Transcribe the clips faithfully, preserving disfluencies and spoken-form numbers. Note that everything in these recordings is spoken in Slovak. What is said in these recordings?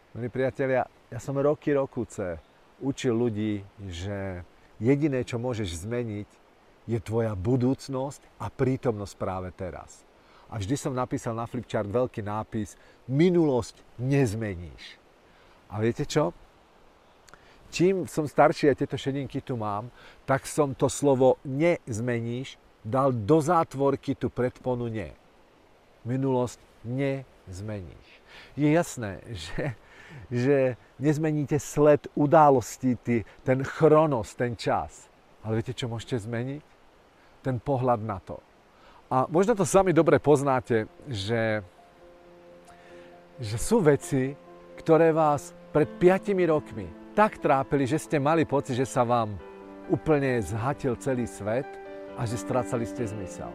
Milí priatelia, ja som roky, rokuce učil ľudí, že jediné, čo môžeš zmeniť, je tvoja budúcnosť a prítomnosť práve teraz. A vždy som napísal na flipchart veľký nápis: minulosť nezmeníš. A viete čo? Čím som starší, a tieto šedinky tu mám, tak som to slovo nezmeníš dal do zátvorky tú predponu nie. Minulosť nezmeníš. Je jasné, že, že nezmeníte sled událostí, ty, ten chronos, ten čas. Ale viete, čo môžete zmeniť? Ten pohľad na to. A možno to sami dobre poznáte, že, že sú veci, ktoré vás pred piatimi rokmi tak trápili, že ste mali pocit, že sa vám úplne zhatil celý svet a že strácali ste zmysel.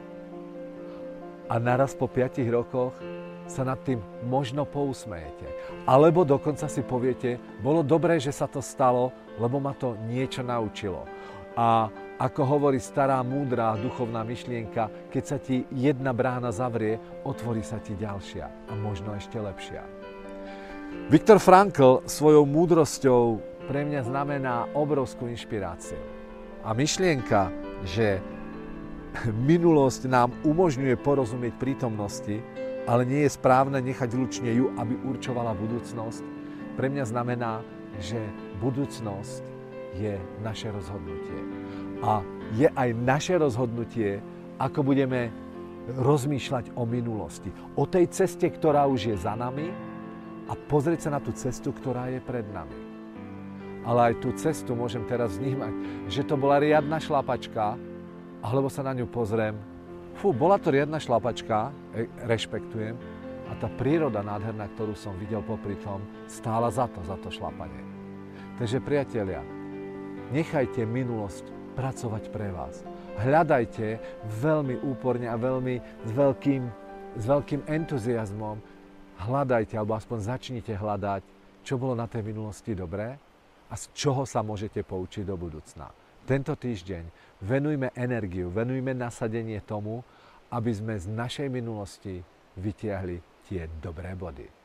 A naraz po piatich rokoch sa nad tým možno pousmejete. Alebo dokonca si poviete, bolo dobré, že sa to stalo, lebo ma to niečo naučilo. A ako hovorí stará múdra duchovná myšlienka, keď sa ti jedna brána zavrie, otvorí sa ti ďalšia a možno ešte lepšia. Viktor Frankl svojou múdrosťou pre mňa znamená obrovskú inšpiráciu. A myšlienka, že minulosť nám umožňuje porozumieť prítomnosti, ale nie je správne nechať lučne ju, aby určovala budúcnosť, pre mňa znamená, že budúcnosť je naše rozhodnutie. A je aj naše rozhodnutie, ako budeme rozmýšľať o minulosti. O tej ceste, ktorá už je za nami, a pozrieť sa na tú cestu, ktorá je pred nami. Ale aj tú cestu môžem teraz vnímať, že to bola riadna šlapačka, alebo sa na ňu pozriem, fú, bola to riadna šlapačka, rešpektujem, a tá príroda nádherná, ktorú som videl popri tom, stála za to, za to šlapanie. Takže priatelia, nechajte minulosť pracovať pre vás. Hľadajte veľmi úporne a veľmi s veľkým, s veľkým entuziasmom, hľadajte, alebo aspoň začnite hľadať, čo bolo na tej minulosti dobré a z čoho sa môžete poučiť do budúcna. Tento týždeň venujme energiu, venujme nasadenie tomu, aby sme z našej minulosti vytiahli tie dobré body.